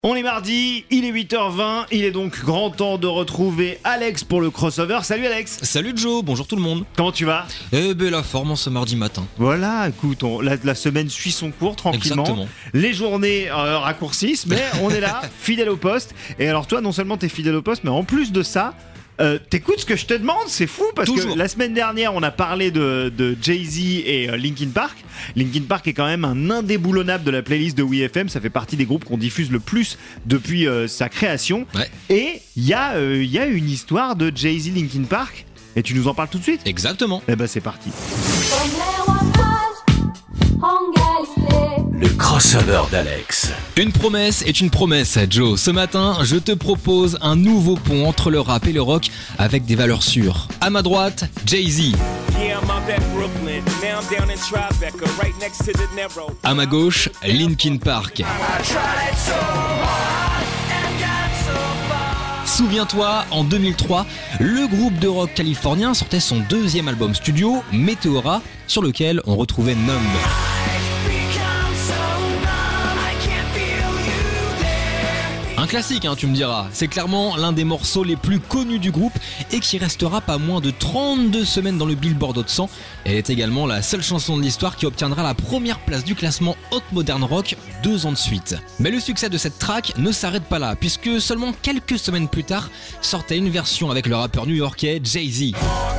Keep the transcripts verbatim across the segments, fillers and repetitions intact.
On est mardi, il est huit heures vingt, il est donc grand temps de retrouver Alex pour le crossover. Salut Alex. Salut Joe, bonjour tout le monde. Comment tu vas? Eh ben la forme en ce mardi matin. Voilà, écoute, on, la, la semaine suit son cours tranquillement. Exactement. Les journées euh, raccourcissent, mais on est là, fidèle au poste. Et alors toi, non seulement t'es fidèle au poste, mais en plus de ça, Euh, t'écoutes ce que je te demande, c'est fou parce Toujours. que la semaine dernière on a parlé de, de Jay-Z et euh, Linkin Park. Linkin Park est quand même un indéboulonnable de la playlist de W F M, ça fait partie des groupes qu'on diffuse le plus depuis euh, sa création. Ouais. Et il y, euh, y a une histoire de Jay-Z Linkin Park et tu nous en parles tout de suite? Exactement. Eh ben c'est parti. Le crossover d'Alex. Une promesse est une promesse, Joe. Ce matin, je te propose un nouveau pont entre le rap et le rock avec des valeurs sûres. À ma droite, Jay-Z. À ma gauche, Linkin Park. Souviens-toi, en deux mille trois, le groupe de rock californien sortait son deuxième album studio, Meteora, sur lequel on retrouvait Numb. Un classique, hein, tu me diras. C'est clairement l'un des morceaux les plus connus du groupe et qui restera pas moins de trente-deux semaines dans le Billboard Hot cent. Elle est également la seule chanson de l'histoire qui obtiendra la première place du classement Hot Modern Rock deux ans de suite. Mais le succès de cette track ne s'arrête pas là, puisque seulement quelques semaines plus tard sortait une version avec le rappeur new-yorkais Jay-Z.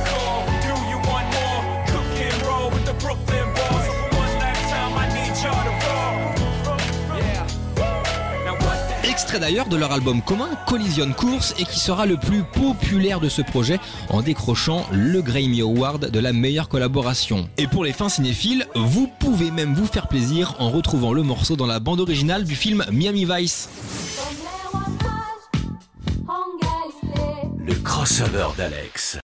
Extrait d'ailleurs de leur album commun Collision Course et qui sera le plus populaire de ce projet en décrochant le Grammy Award de la meilleure collaboration. Et pour les fins cinéphiles, vous pouvez même vous faire plaisir en retrouvant le morceau dans la bande originale du film Miami Vice. Le crossover d'Alex.